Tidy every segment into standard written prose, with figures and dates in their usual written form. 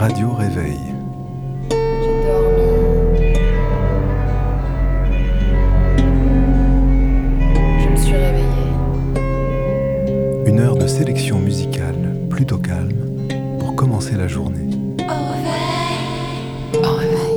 Radio Réveil. J'ai dormi. Je me suis réveillée. Une heure de sélection musicale plutôt calme pour commencer la journée. Au réveil. Au réveil.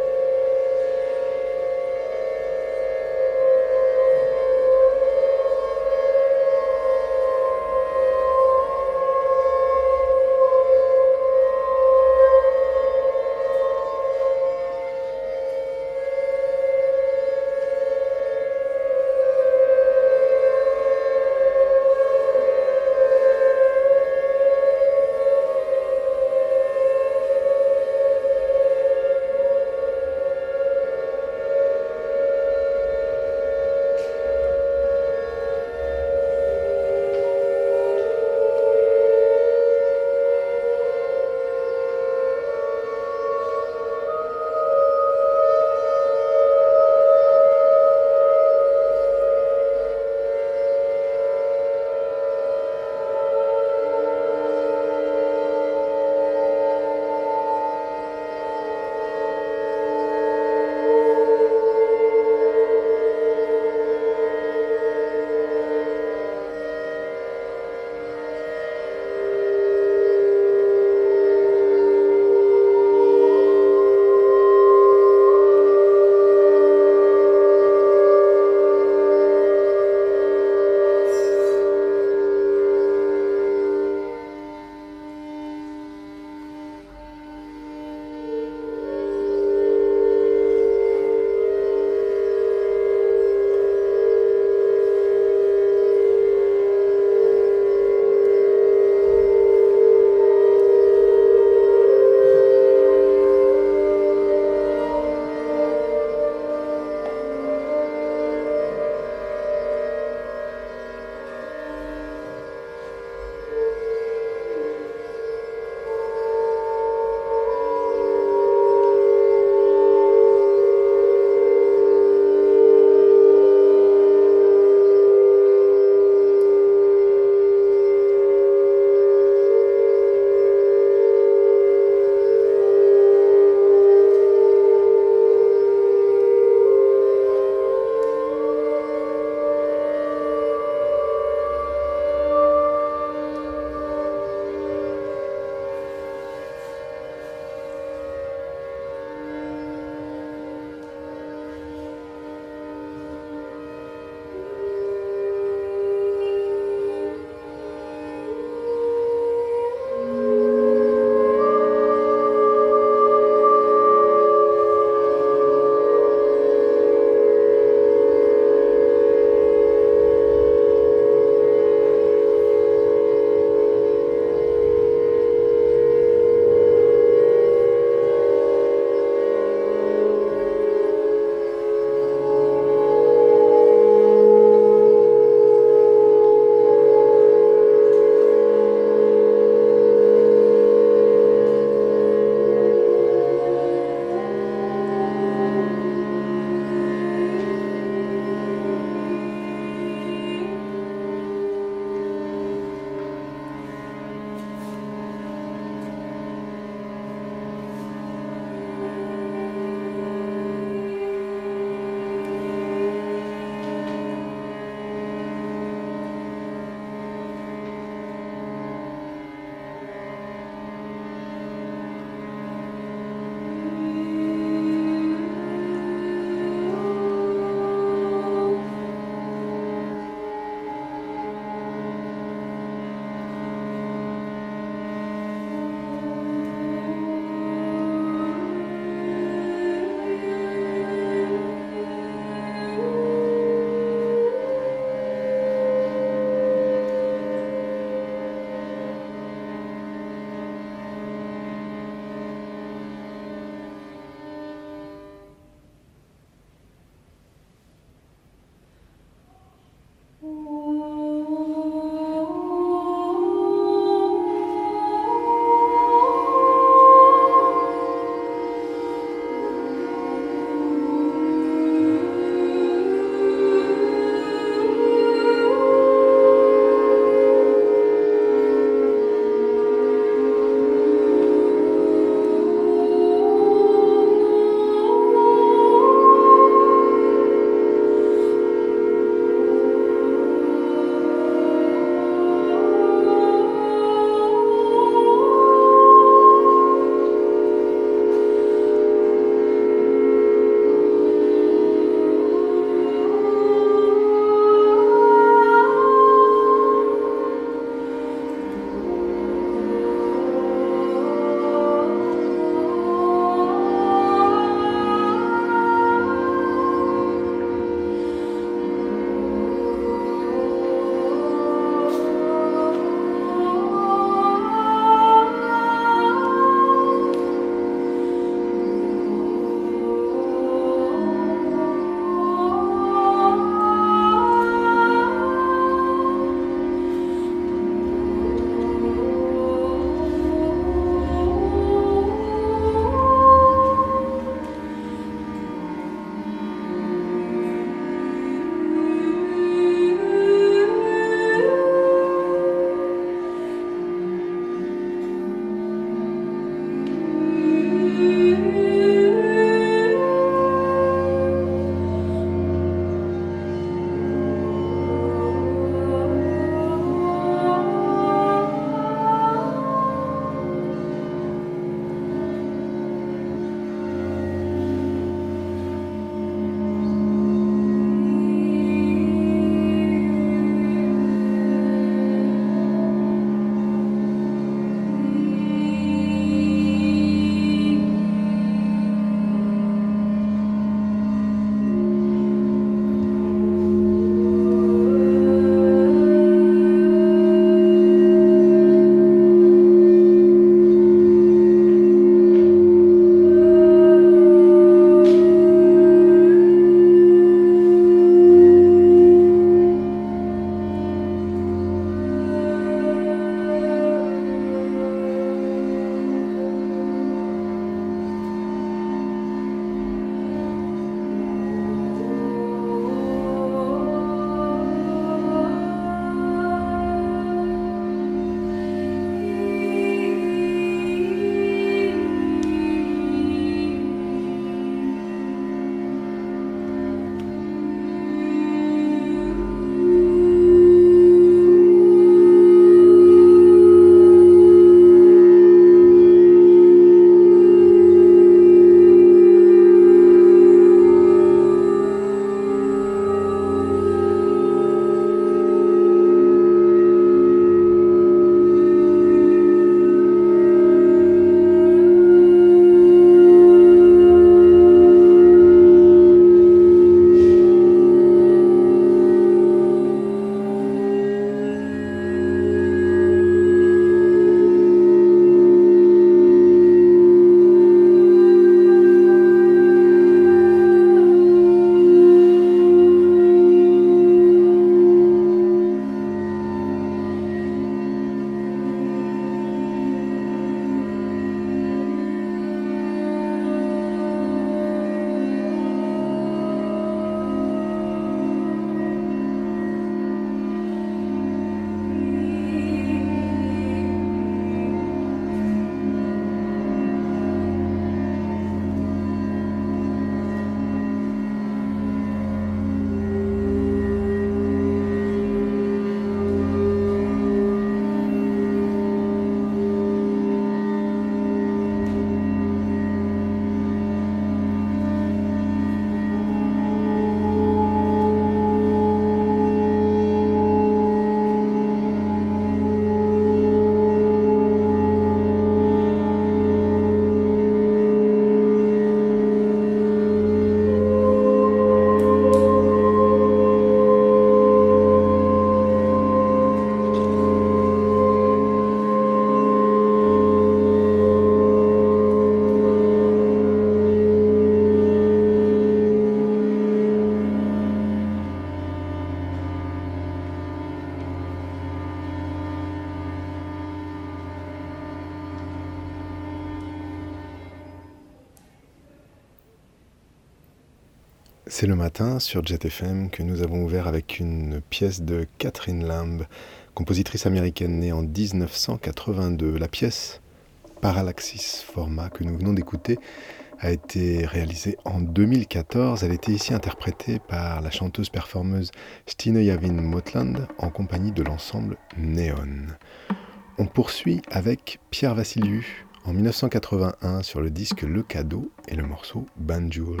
C'est le matin sur Jet FM que nous avons ouvert avec une pièce de Catherine Lamb, compositrice américaine née en 1982. La pièce Parallaxis Forma que nous venons d'écouter a été réalisée en 2014. Elle était ici interprétée par la chanteuse-performeuse Stine Yavin Motland en compagnie de l'ensemble Néon. On poursuit avec Pierre Vassiliou en 1981 sur le disque Le Cadeau et le morceau Banjul.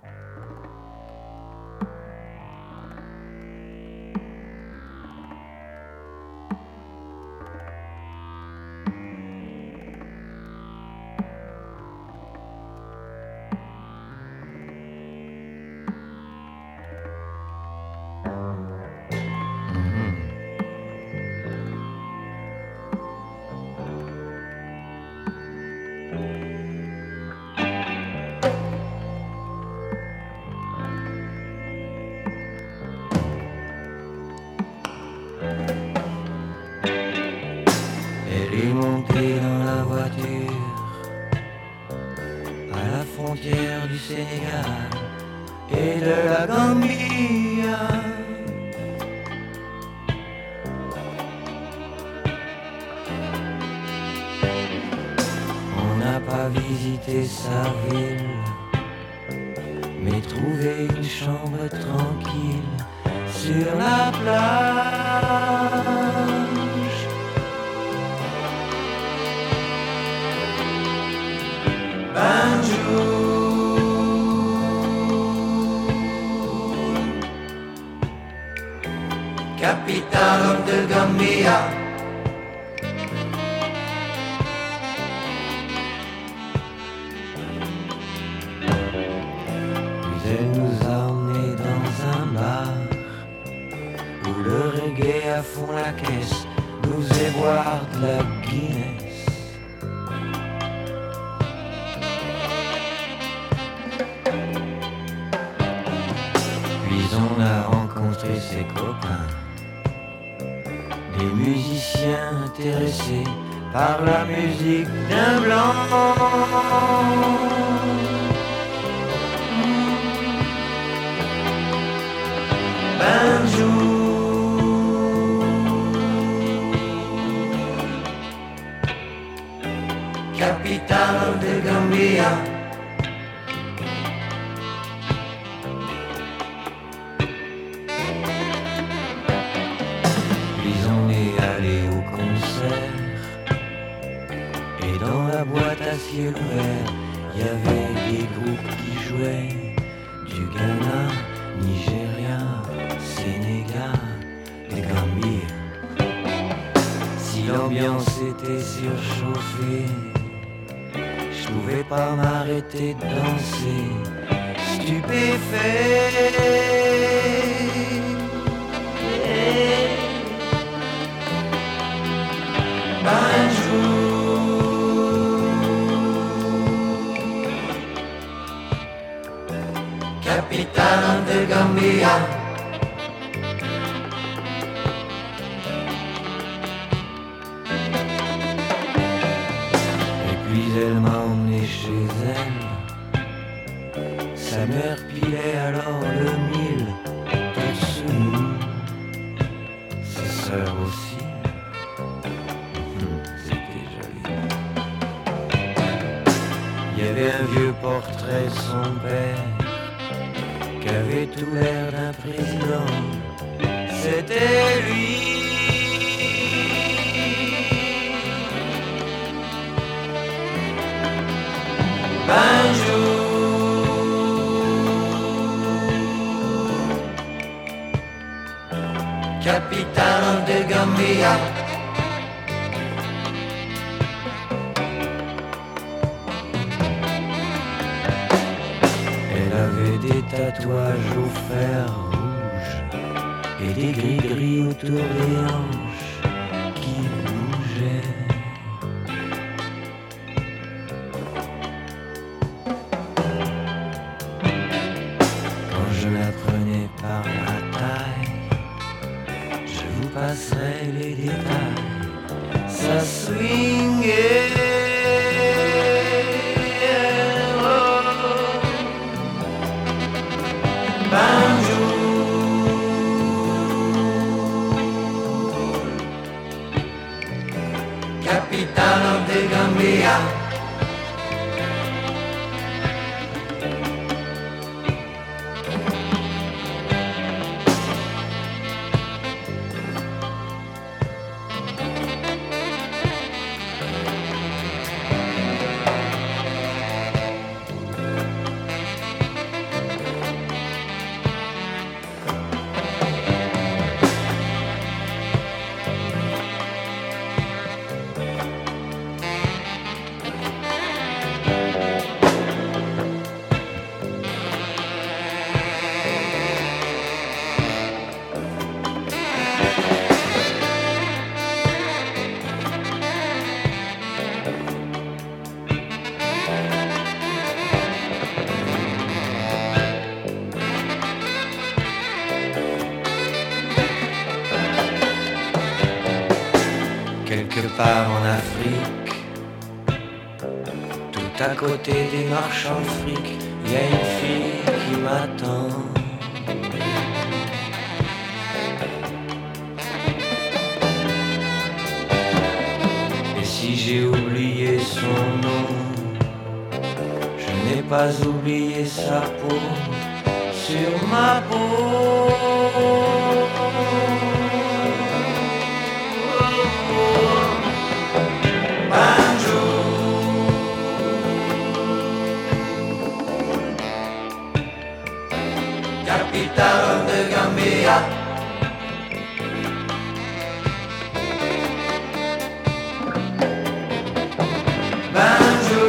Capitano del Gambia. Puis elle nous a emmenés dans un bar où le reggae à fond la caisse nous faisait boire de la Guinness. Puis on a rencontré ses copains, des musiciens intéressés par la musique d'un blanc. Banjul, capitano del Gambia. Ciel ouvert, il y avait des groupes qui jouaient du Ghana, Nigeria, Sénégal, des Gambie. Si l'ambiance était surchauffée, je pouvais pas m'arrêter de danser, stupéfait. Banjul, capitano del Gambia. Et puis elle m'a emmené chez elle. Sa mère pilait alors le mille tout sous nous. Ses sœurs aussi. C'était joli. Il y avait un vieux portrait de son père qui avait tout l'air d'un président, c'était lui. Banjul, capitano del Gambia. Des tatouages au fer rouge et des gris-gris autour des hanches qui bougeaient. Quand je la prenais par la taille, je vous passerai les détails. Ça swingait. Juste à côté des marchands de fric, y a une fille qui m'attend. Et si j'ai oublié son nom, je n'ai pas oublié sa peau sur ma peau. Banjo, capitale de Gambia. Banjo,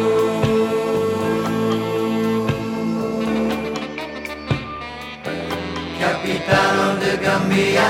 capitale de Gambia.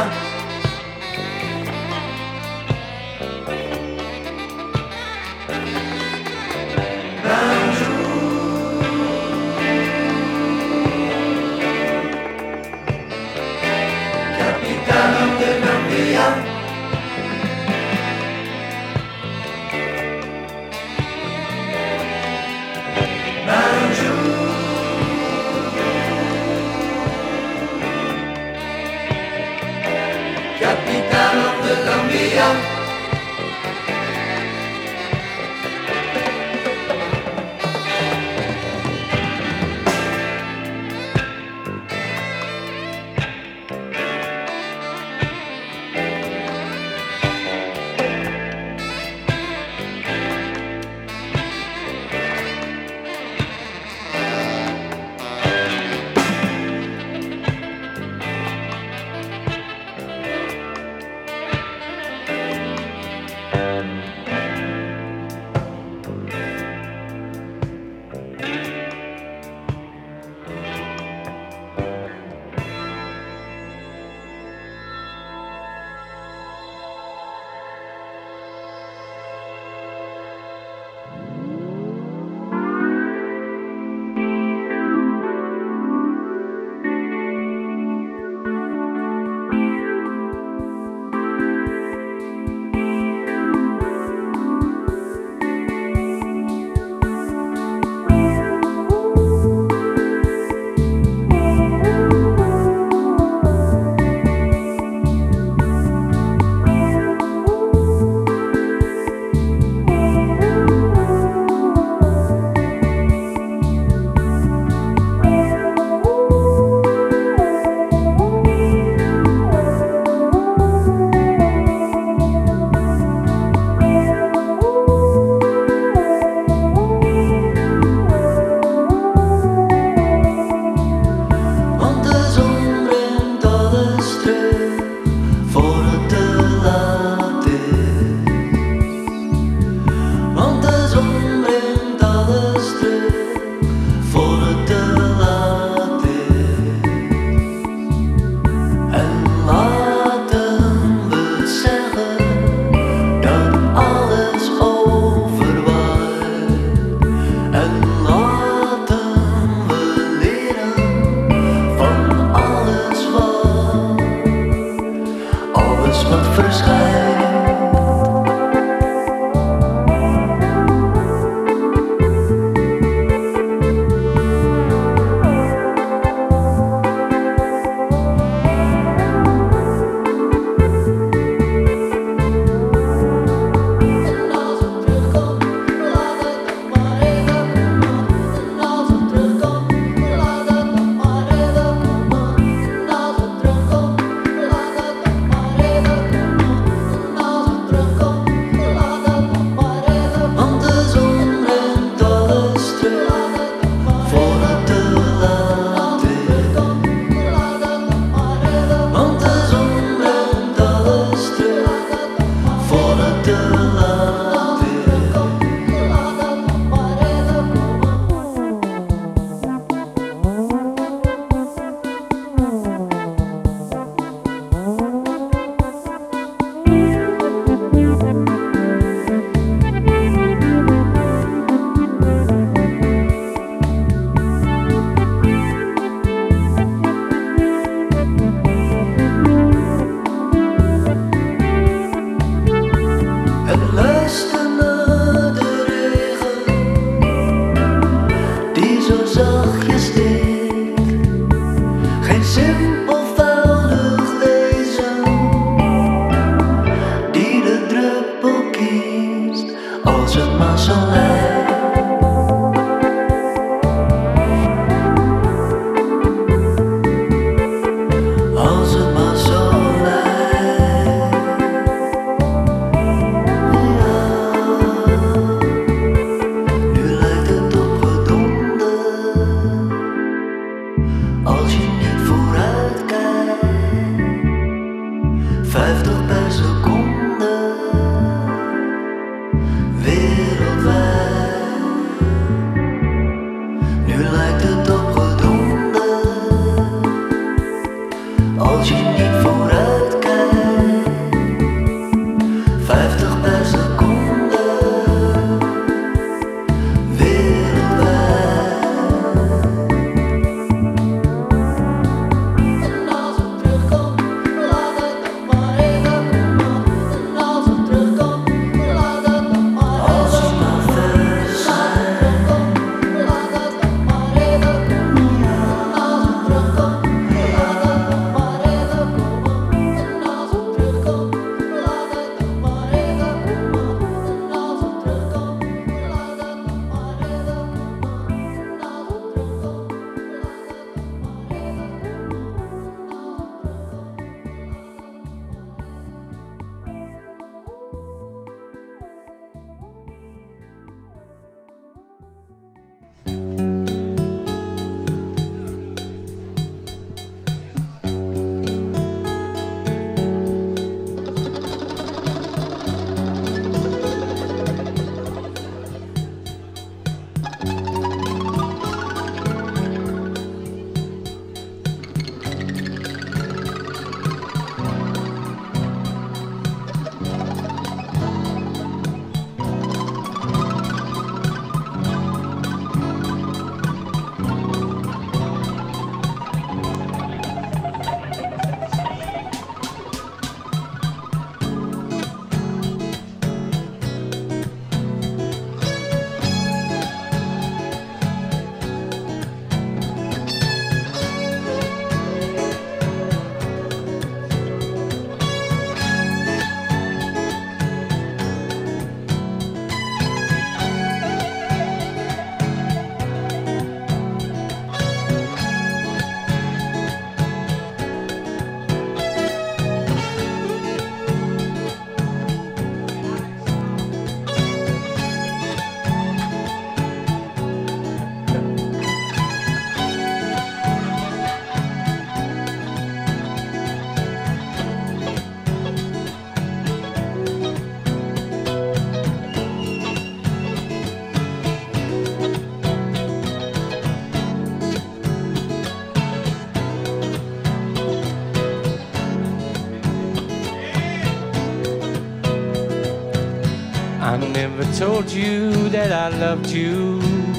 never told you that I loved you.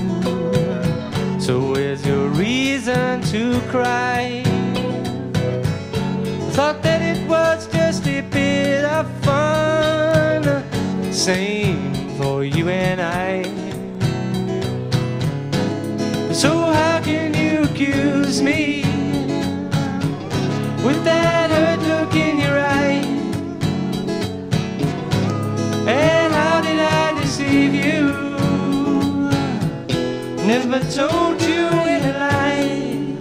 So where's your reason to cry? Thought that it was just a bit of fun, same for you and I. So how can you accuse me with that hurt look in your eye? And how did I deceive you? Never told you in a lie.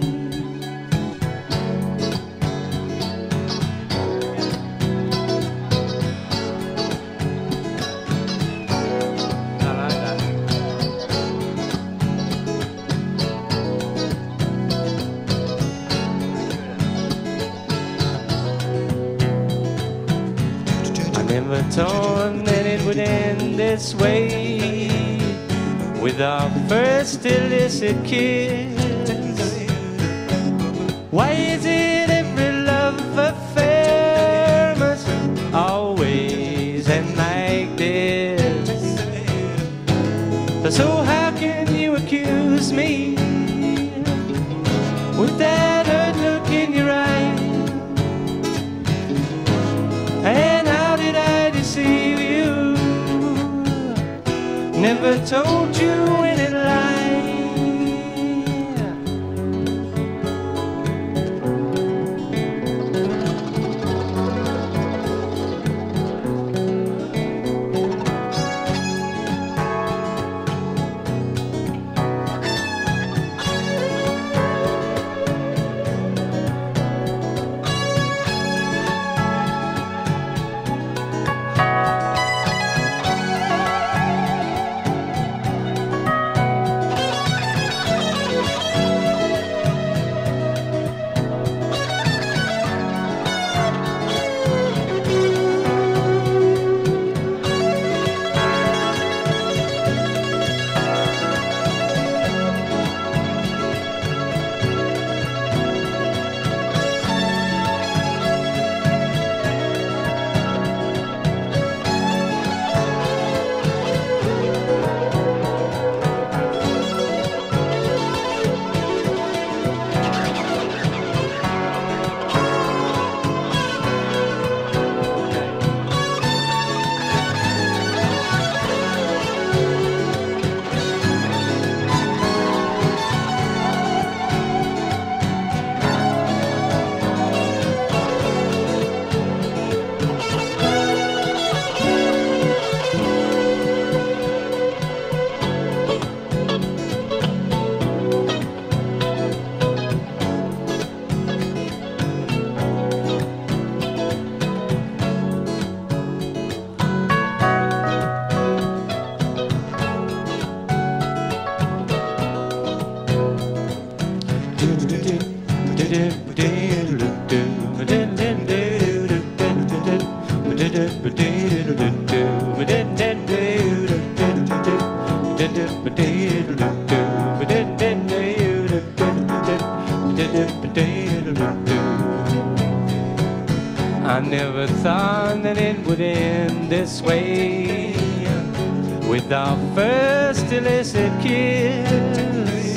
Never thought that it would end this way, with our first illicit kiss. Why is it every love affair must always end like this? So how can you accuse me with that hurt look in your eye? And how did I deceive you? Never told you any lie. I never thought that it would end this way, with our first illicit kiss.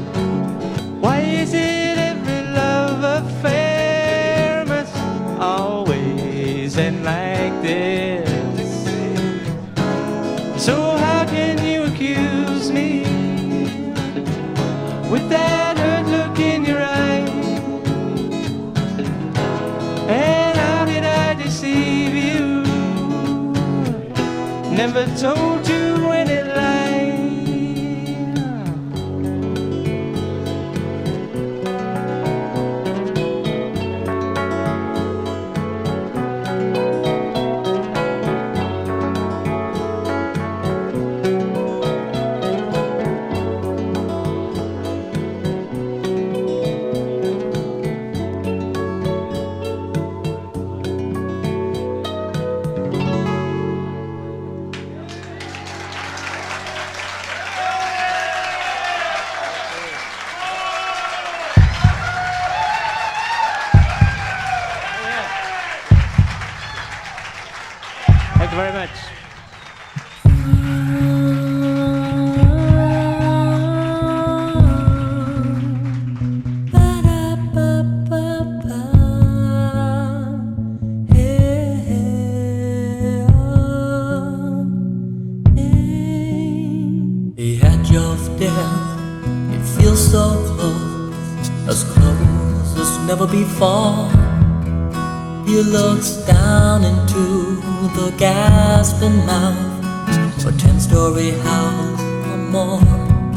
Why is it every love affair must always end like this? So how can you accuse me with that hurt look in your eye? And how did I deceive you? Never told you any lie. Thank you very much. death. It feels so close as never before. He looks down into the gasping mouth of a 10-story house or more.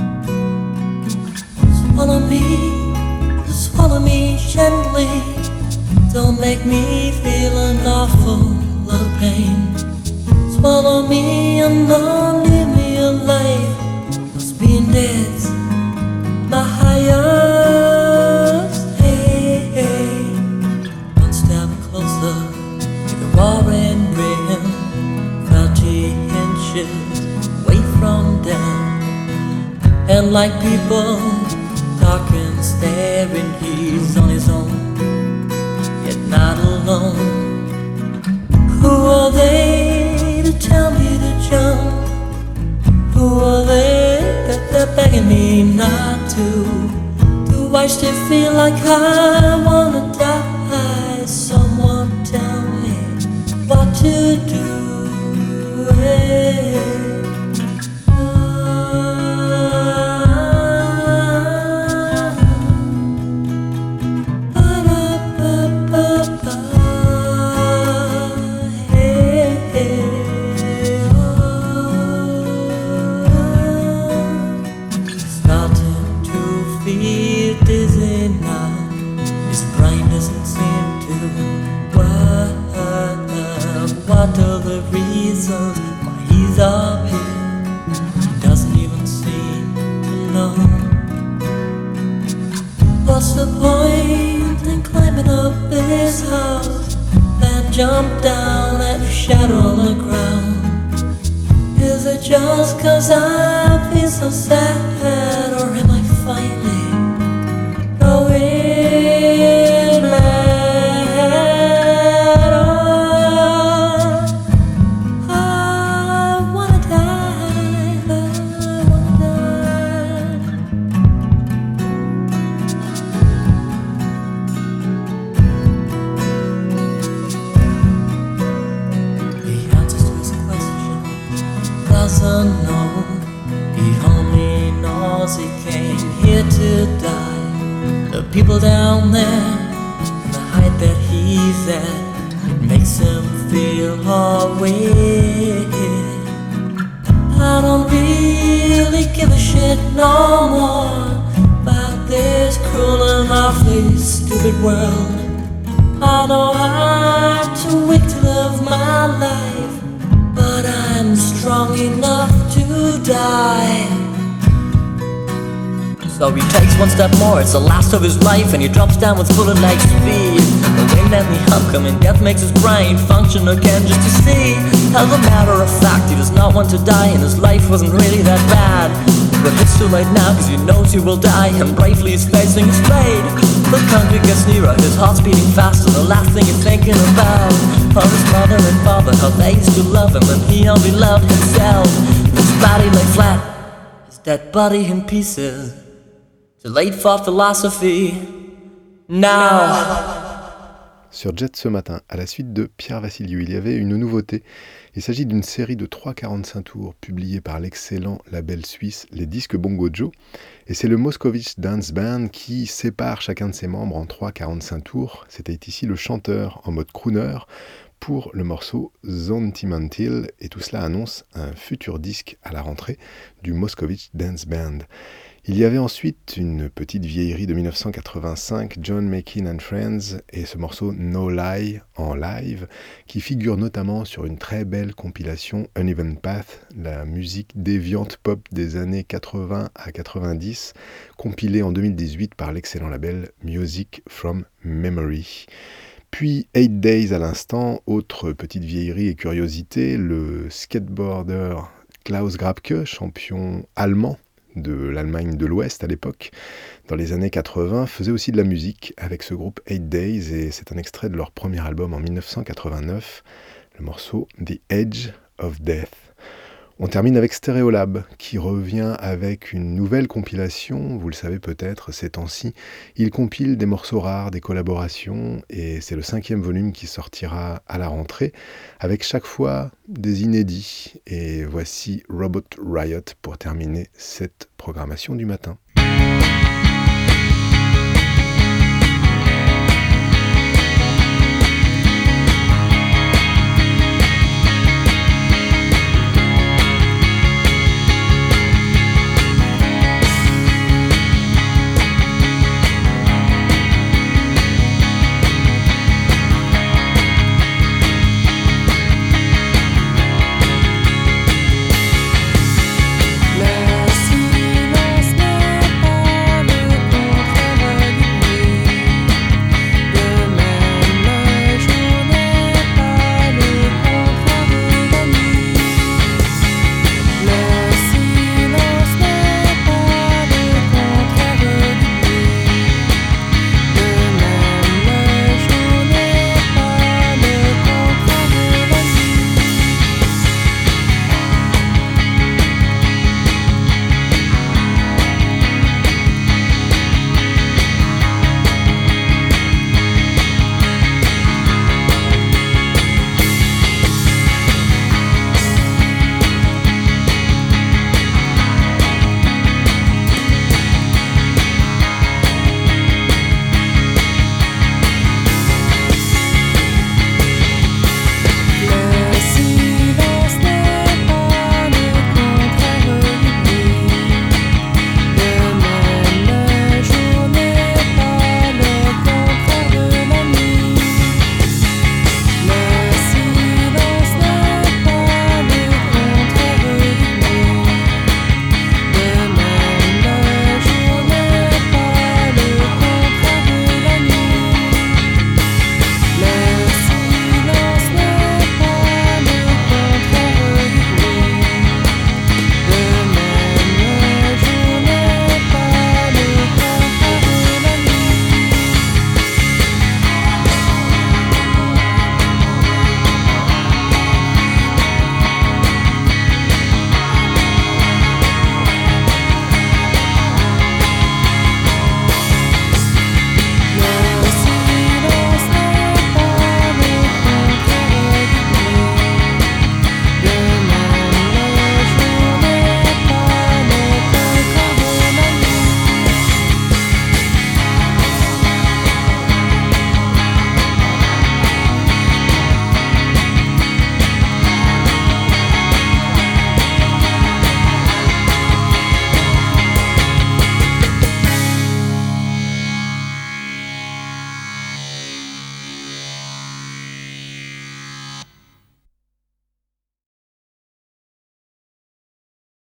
Swallow me gently. Don't make me feel an awful lot of pain. Swallow me and don't leave me alive. 'Cause being dead's my highest. Hey, hey. One step closer to the roaring rain. 30 inches away from death. And like people talking, staring, he's on his own, yet not alone. Who are they to tell me to jump? Who are they that they're begging me not to? Do I still feel like I wanna die? Someone tell me what to do. Hey. What are the reasons why he's up here? He doesn't even seem to know. What's the point in climbing up this house, then jump down at a shadow on the ground? Is it just 'cause I feel so sad, or am I finally going mad? Unknown. He only knows he came here to die. The people down there, the height that he's at, it makes him feel away. I don't really give a shit no more about this cruel and awfully stupid world. I know I'm too weak to live my life, but I'm strong enough to die. So he takes one step more, it's the last of his life, and he drops down with bullet-like speed. The wind and the homecoming, death makes his brain function again just to see. As a matter of fact, he does not want to die, and his life wasn't really that bad. But it's too late now, 'cause he knows he will die, and bravely he's facing his fate. The country gets nearer, his heart's beating faster. The last thing he's thinking about are his mother and father, how they used to love him, and he only loved himself. His body lay flat, his dead body in pieces. Too late for philosophy, now. Sur Jet ce matin, à la suite de Pierre Vassiliou, il y avait une nouveauté. Il s'agit d'une série de 3 45 tours publiée par l'excellent label suisse Les Disques Bongo Joe. Et c'est le Moscovitch Dance Band qui sépare chacun de ses membres en 3 45 tours. C'était ici le chanteur en mode crooner pour le morceau Zontimantil. Et tout cela annonce un futur disque à la rentrée du Moscovitch Dance Band. Il y avait ensuite une petite vieillerie de 1985, John Makin and Friends, et ce morceau No Lie en live, qui figure notamment sur une très belle compilation Uneven Path, la musique déviante pop des années 80 à 90, compilée en 2018 par l'excellent label Music from Memory. Puis 8 Days à l'instant, autre petite vieillerie et curiosité, le skateboarder Klaus Grabke, champion allemand de l'Allemagne de l'Ouest à l'époque, dans les années 80, faisait aussi de la musique avec ce groupe 8 Days, et c'est un extrait de leur premier album en 1989, le morceau The Edge of Death. On termine avec Stereolab, qui revient avec une nouvelle compilation, vous le savez peut-être, ces temps-ci. Il compile des morceaux rares, des collaborations, et c'est le 5e volume qui sortira à la rentrée, avec chaque fois des inédits. Et voici Robot Riot pour terminer cette programmation du matin.